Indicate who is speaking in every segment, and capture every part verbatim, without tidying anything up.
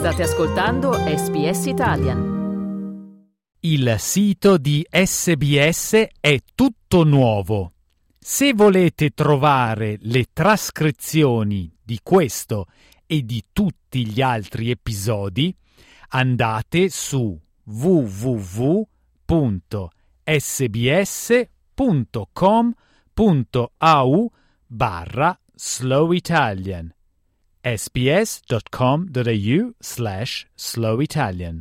Speaker 1: State ascoltando S B S Italian.
Speaker 2: Il sito di S B S è tutto nuovo. Se volete trovare le trascrizioni di questo e di tutti gli altri episodi, andate su w w w punto s b s punto com punto a u barra slow italian sbs.com.au slash slow Italian.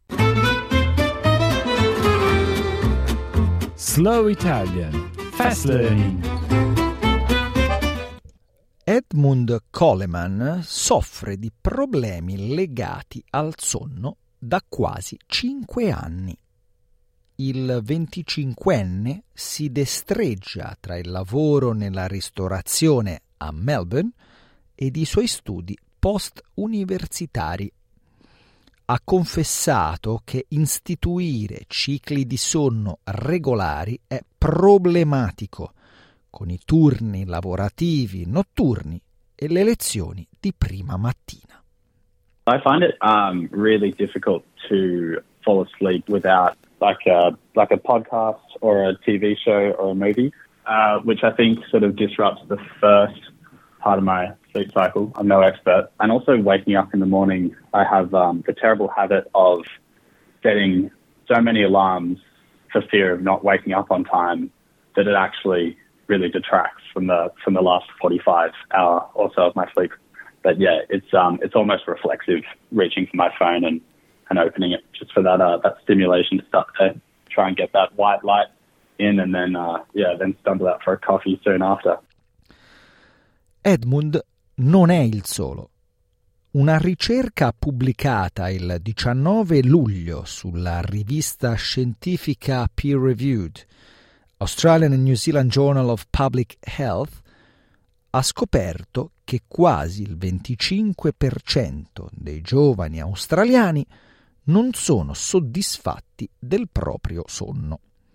Speaker 2: Slow Italian. Fast Learning.
Speaker 3: Edmund Coleman soffre di problemi legati al sonno da quasi cinque anni. Il venticinquenne si destreggia tra il lavoro nella ristorazione a Melbourne ed i suoi studi post-universitari. Ha confessato che istituire cicli di sonno regolari è problematico, con i turni lavorativi notturni e le lezioni di prima mattina.
Speaker 4: I find it um, really difficult to fall asleep without like a like a podcast or a T V show or a movie, uh, which I think sort of disrupts the first part of my sleep cycle. I'm no expert. And also waking up in the morning, I have um, the terrible habit of setting so many alarms for fear of not waking up on time that it actually really detracts from the from the last forty-five hour or so of my sleep. But yeah, it's um it's almost reflexive reaching for my phone and, and opening it just for that uh, that stimulation to start to try and get that white light in and then uh, yeah then stumble out for a coffee soon after.
Speaker 3: Edmund non è il solo. Una ricerca pubblicata il diciannove luglio sulla rivista scientifica Peer Reviewed, Australian and New Zealand Journal of Public Health, ha scoperto che quasi il venticinque per cento dei giovani australiani non sono soddisfatti del proprio sonno.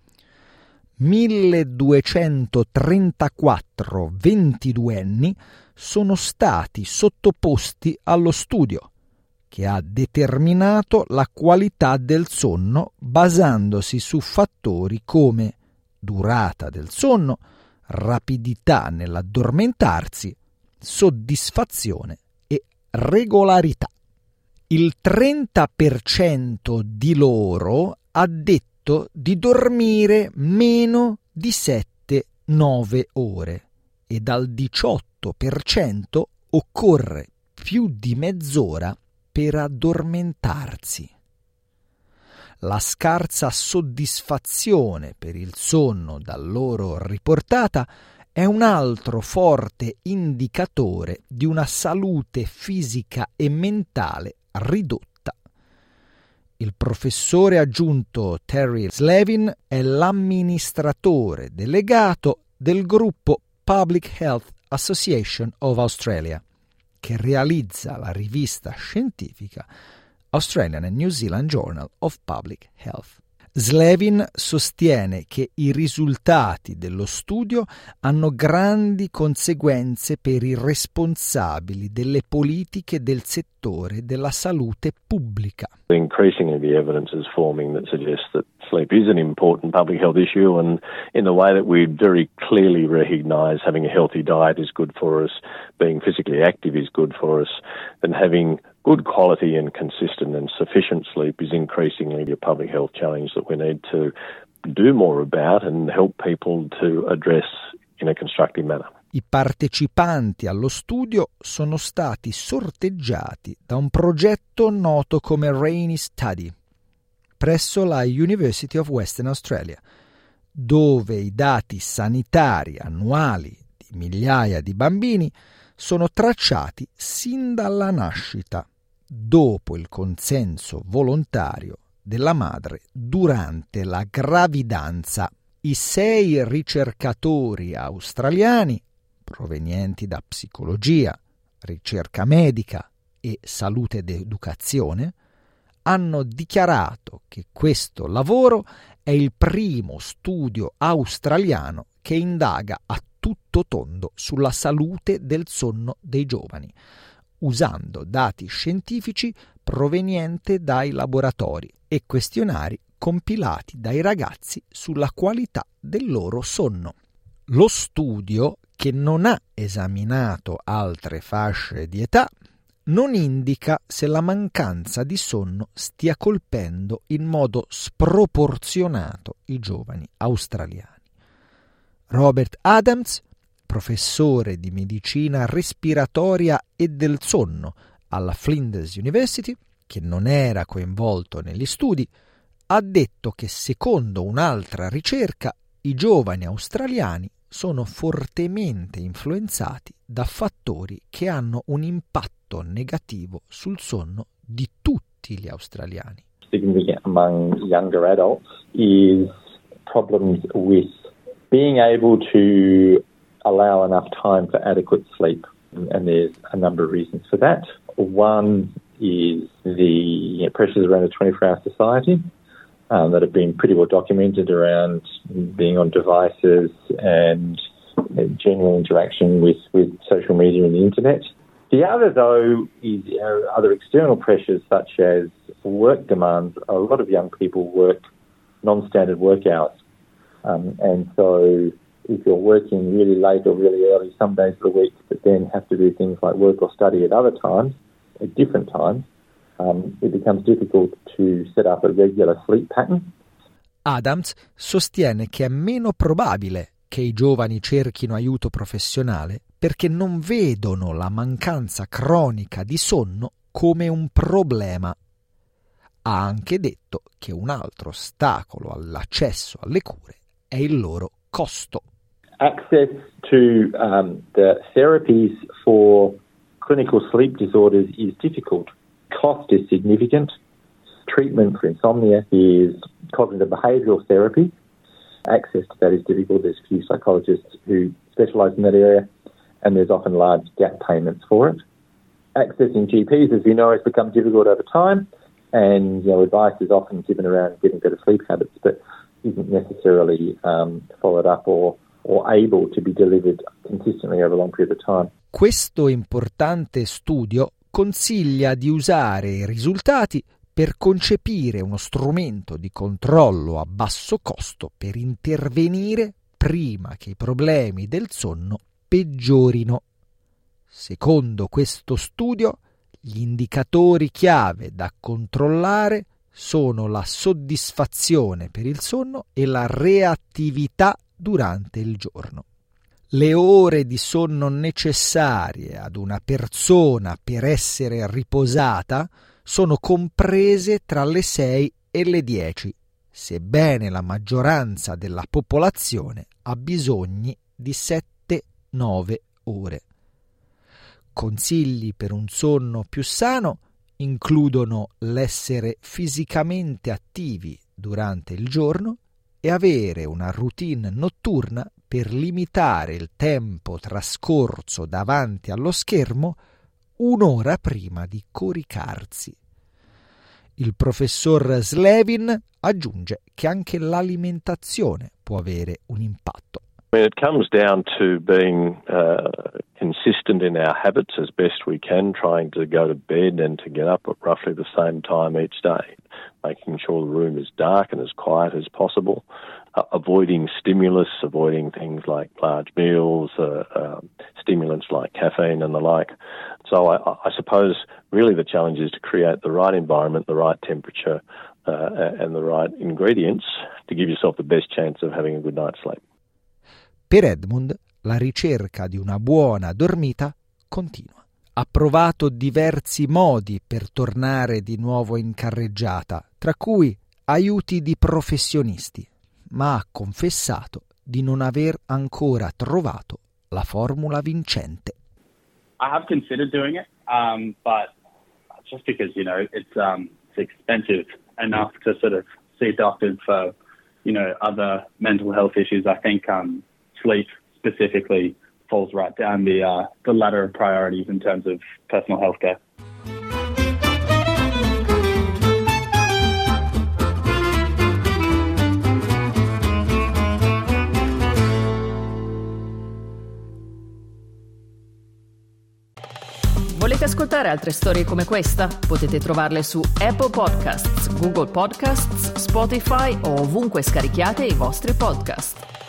Speaker 3: milleduecentotrentaquattro ventiduenni sono stati sottoposti allo studio, che ha determinato la qualità del sonno basandosi su fattori come durata del sonno, rapidità nell'addormentarsi, soddisfazione e regolarità. Il trenta per cento di loro ha detto di dormire meno di sette nove ore e dal diciotto per cento occorre più di mezz'ora per addormentarsi. La scarsa soddisfazione per il sonno da loro riportata è un altro forte indicatore di una salute fisica e mentale ridotta. Il professore aggiunto Terry Slevin è l'amministratore delegato del gruppo Public Health Association of Australia, che realizza la rivista scientifica Australian and New Zealand Journal of Public Health. Slevin sostiene che i risultati dello studio hanno grandi conseguenze per i responsabili delle politiche del settore della salute pubblica.
Speaker 5: Increasingly the evidence is forming that suggests that sleep is an important public health issue, and in the way that we very clearly recognise having a healthy diet is good for us, being physically active is good for us, then having good quality and consistent and sufficient sleep is increasingly a public health challenge that we need to do more about and help people to address in a constructive manner.
Speaker 3: I partecipanti allo studio sono stati sorteggiati da un progetto noto come Rainy Study presso la University of Western Australia, dove i dati sanitari annuali di migliaia di bambini sono tracciati sin dalla nascita, dopo il consenso volontario della madre durante la gravidanza. I sei ricercatori australiani, provenienti da psicologia, ricerca medica e salute ed educazione, hanno dichiarato che questo lavoro è il primo studio australiano che indaga a tutto tondo sulla salute del sonno dei giovani, usando dati scientifici provenienti dai laboratori e questionari compilati dai ragazzi sulla qualità del loro sonno. Lo studio, che non ha esaminato altre fasce di età, non indica se la mancanza di sonno stia colpendo in modo sproporzionato i giovani australiani. Robert Adams, professore di medicina respiratoria e del sonno alla Flinders University, che non era coinvolto negli studi, ha detto che secondo un'altra ricerca i giovani australiani sono fortemente influenzati da fattori che hanno un impatto negativo sul sonno di tutti gli australiani.
Speaker 6: Significant among younger adults is problems with being able to allow enough time for adequate sleep, and there's a number of reasons for that. One is the pressures around a twenty-four hour society um, that have been pretty well documented around being on devices and general interaction with, with social media and the internet. The other, though, is uh, other external pressures such as work demands. A lot of young people work non-standard work hours. Um, and so if you're working really late or really early some days of the week, but then have to do things like work or study at other times, at different times, um, it becomes difficult to set up a regular sleep pattern.
Speaker 3: Adams sostiene che è meno probabile che i giovani cerchino aiuto professionale perché non vedono la mancanza cronica di sonno come un problema. Ha anche detto che un altro ostacolo all'accesso alle cure è il loro costo.
Speaker 6: Access to um, the therapies for clinical sleep disorders is difficult. Cost is significant. Treatment for insomnia is cognitive behavioural therapy. Access to that is difficult. There's few psychologists who specialise in that area, and there's often large gap payments for it. Accessing G Ps, as we know, has become difficult over time, and you know, advice is often given around getting better sleep habits, but isn't necessarily um, followed up or, or able to be delivered consistently over a long period of time.
Speaker 3: Questo importante studio consiglia di usare i risultati per concepire uno strumento di controllo a basso costo per intervenire prima che i problemi del sonno peggiorino. Secondo questo studio, gli indicatori chiave da controllare sono la soddisfazione per il sonno e la reattività durante il giorno. Le ore di sonno necessarie ad una persona per essere riposata sono comprese tra le sei e le dieci, sebbene la maggioranza della popolazione ha bisogni di sette nove ore. Consigli per un sonno più sano includono l'essere fisicamente attivi durante il giorno e avere una routine notturna per limitare il tempo trascorso davanti allo schermo un'ora prima di coricarsi. Il professor Slevin aggiunge che anche l'alimentazione può avere un impatto.
Speaker 5: I mean, it comes down to being uh, consistent in our habits as best we can, trying to go to bed and to get up at roughly the same time each day, making sure the room is dark and as quiet as possible, uh, avoiding stimulus, avoiding things like large meals, uh, uh, stimulants like caffeine and the like. So I, I suppose really the challenge is to create the right environment, the right temperature uh, and the right ingredients to give yourself the best chance of having a good night's sleep.
Speaker 3: Per Edmund, la ricerca di una buona dormita continua. Ha provato diversi modi per tornare di nuovo in carreggiata, tra cui aiuti di professionisti, ma ha confessato di non aver ancora trovato la formula vincente.
Speaker 4: I have considered doing it, um, but just because, you know, it's, um, it's expensive enough to sort of see doctors for, you know, other mental health issues. I think um, sleep specifically falls right down the uh, the ladder of priorities in terms of personal health care.
Speaker 1: Volete ascoltare altre storie come questa? Potete trovarle su Apple Podcasts, Google Podcasts, Spotify o ovunque scarichiate i vostri podcast.